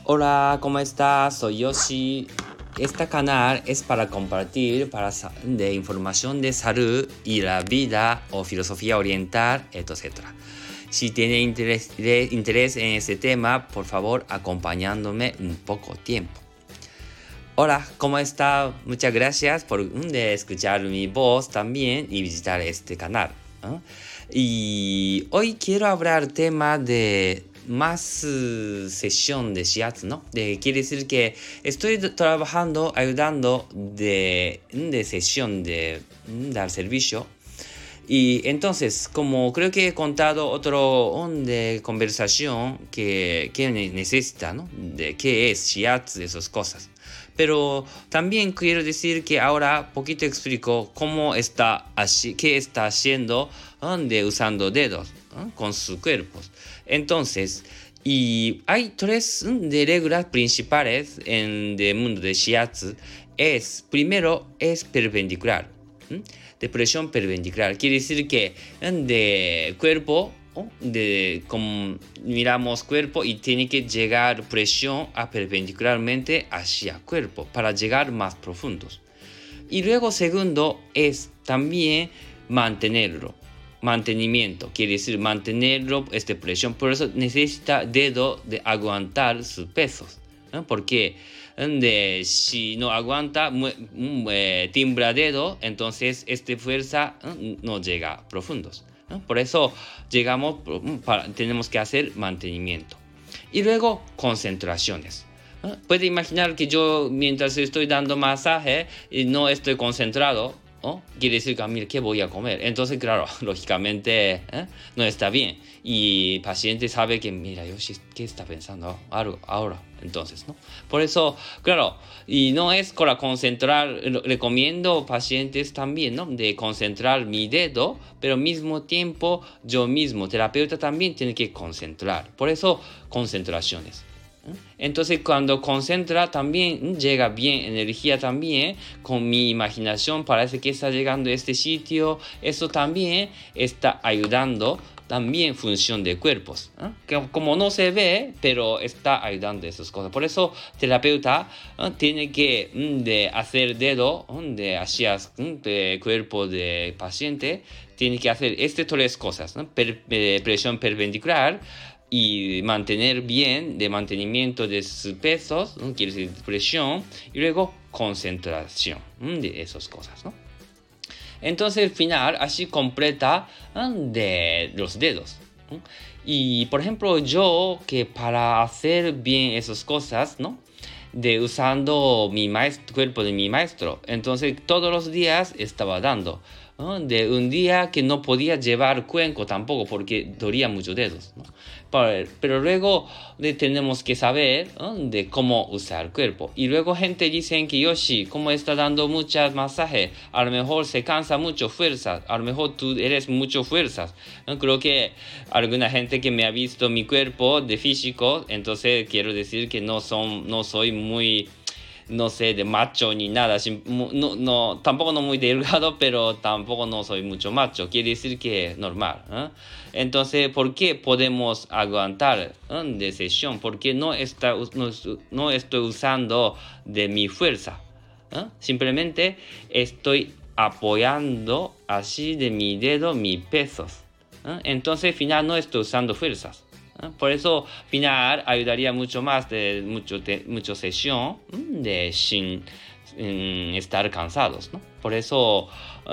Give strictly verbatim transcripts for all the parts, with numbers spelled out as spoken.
Hola, ¿cómo estás? Soy Yoshi. Este canal es para compartir para de información de salud y la vida o filosofía oriental, etcétera. Si tiene interés, interés en este tema, por favor, acompañándome un poco tiempo. Hola, ¿cómo está? Muchas gracias por de escuchar mi voz también y visitar este canal. ¿eh? Y hoy quiero hablar tema de más uh, sesión de shiatsu, ¿no? De, quiere decir que estoy trabajando, ayudando de, de sesión de dar servicio. Y entonces, como creo que he contado otro de conversación que, que necesita, ¿no? De qué es shiatsu, de esas cosas. Pero también quiero decir que ahora poquito explico cómo está, qué está haciendo de usando dedos ¿no? con sus cuerpos. Entonces, y hay tres de reglas principales en el mundo de shiatsu. Es, primero, es perpendicular. ¿sí? De presión perpendicular. Quiere decir que de cuerpo, de, como miramos cuerpo y tiene que llegar presión a perpendicularmente hacia cuerpo para llegar más profundos. Y luego segundo es también mantenerlo. Mantenimiento, quiere decir mantenerlo, esta presión. Por eso necesita dedo de aguantar sus pesos. ¿no? Porque de, si no aguanta, eh, timbra dedo, entonces esta fuerza eh, no llega a profundos. ¿no? Por eso llegamos, para, tenemos que hacer mantenimiento. Y luego concentraciones. ¿no? Puede imaginar que yo mientras estoy dando masaje no estoy concentrado. ¿Oh? Quiere decir que, mira, ¿qué voy a comer? Entonces, claro, lógicamente ¿eh? no está bien. Y el paciente sabe que, mira, Yoshi, ¿qué está pensando ahora? ahora? Entonces, ¿no? Por eso, claro, y no es para concentrar, recomiendo pacientes también, ¿no? De concentrar mi dedo, pero al mismo tiempo, yo mismo, terapeuta también tiene que concentrar. Por eso, concentraciones. Entonces cuando concentra también llega bien energía también con mi imaginación parece que está llegando a este sitio, eso también está ayudando también función de cuerpos ¿eh? que como no se ve pero está ayudando a esas cosas. Por eso terapeuta ¿eh? tiene que de hacer dedo de hacia de cuerpo de paciente, tiene que hacer estas tres cosas ¿no? per, eh, presión perpendicular y mantener bien de mantenimiento de sus pesos, ¿no? quiere decir presión, y luego concentración ¿no? de esas cosas, ¿no? Entonces al final así completa ¿no? de los dedos. ¿no? Y por ejemplo yo que para hacer bien esas cosas, ¿no? de usando mi maestro, cuerpo de mi maestro, entonces todos los días estaba dando. ¿no? De un día que no podía llevar cuenco tampoco porque dolía muchos dedos. ¿no? Pero, pero luego de, tenemos que saber ¿no? de cómo usar el cuerpo. Y luego gente dice que Yoshi, como está dando muchas masajes, a lo mejor se cansa mucho fuerzas, a lo mejor tú eres mucho fuerzas. ¿no? Creo que alguna gente que me ha visto mi cuerpo de físico, entonces quiero decir que no, son, no soy muy... no sé, de macho ni nada, no, no, tampoco no muy delgado, pero tampoco no soy mucho macho, quiere decir que es normal. ¿eh? Entonces, ¿por qué podemos aguantar ¿eh? de sesión? Porque no, está, no, no estoy usando de mi fuerza, ¿eh? simplemente estoy apoyando así de mi dedo mis pesos. ¿eh? Entonces, al final no estoy usando fuerzas. Por eso, al final, ayudaría mucho más de mucho, de, mucho sesión de sin, sin estar cansados, ¿no? Por eso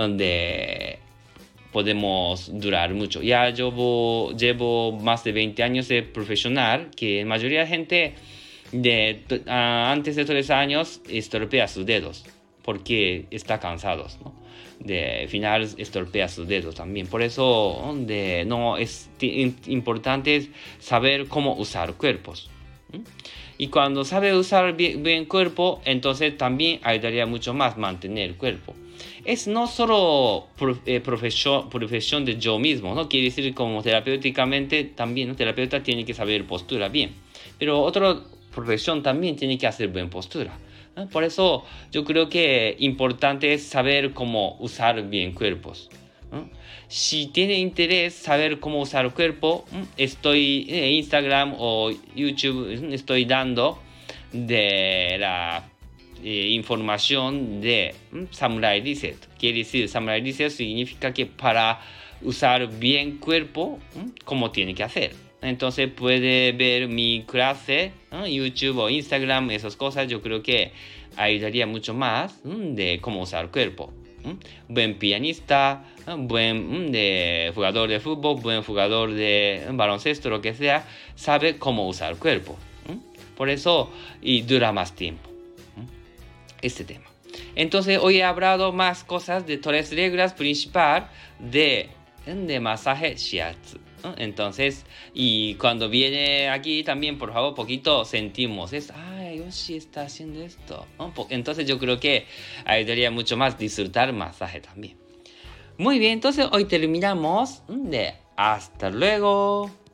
de, podemos durar mucho. Ya llevo, llevo más de veinte años de profesional, que la mayoría de gente de, uh, antes de tres años estropea sus dedos porque está cansados, ¿no? De final estorpea sus dedos también. Por eso de, no es importante saber cómo usar cuerpos. ¿sí? Y cuando sabe usar bien, bien cuerpo, entonces también ayudaría mucho más mantener el cuerpo. Es no solo pro, eh, profesión, profesión de yo mismo, ¿no? Quiere decir como terapéuticamente también, ¿no? Terapeuta tiene que saber postura bien. Pero otra profesión también tiene que hacer buena postura. ¿eh? Por eso yo creo que importante es saber cómo usar bien cuerpos. ¿eh? Si tiene interés saber cómo usar el cuerpo, estoy en Instagram o YouTube, estoy dando de la eh, información de ¿m? Samurai Reset. Quiere decir, Samurai Reset significa que para usar bien cuerpo, ¿m? ¿cómo tiene que hacer? Entonces puede ver mi clase, ¿no? YouTube o Instagram, esas cosas. Yo creo que ayudaría mucho más ¿m? de cómo usar el cuerpo. ¿m? Buen pianista, ¿eh? buen de jugador de fútbol, buen jugador de baloncesto, lo que sea, sabe cómo usar el cuerpo. ¿m? Por eso, y dura más tiempo. ¿m? Este tema. Entonces, hoy he hablado más cosas de tres reglas principales de, de masaje shiatsu. Entonces, y cuando viene aquí también, por favor, poquito sentimos, es, ay, Yoshi está haciendo esto. Entonces yo creo que ayudaría mucho más disfrutar masaje también. Muy bien, entonces hoy terminamos de hasta luego.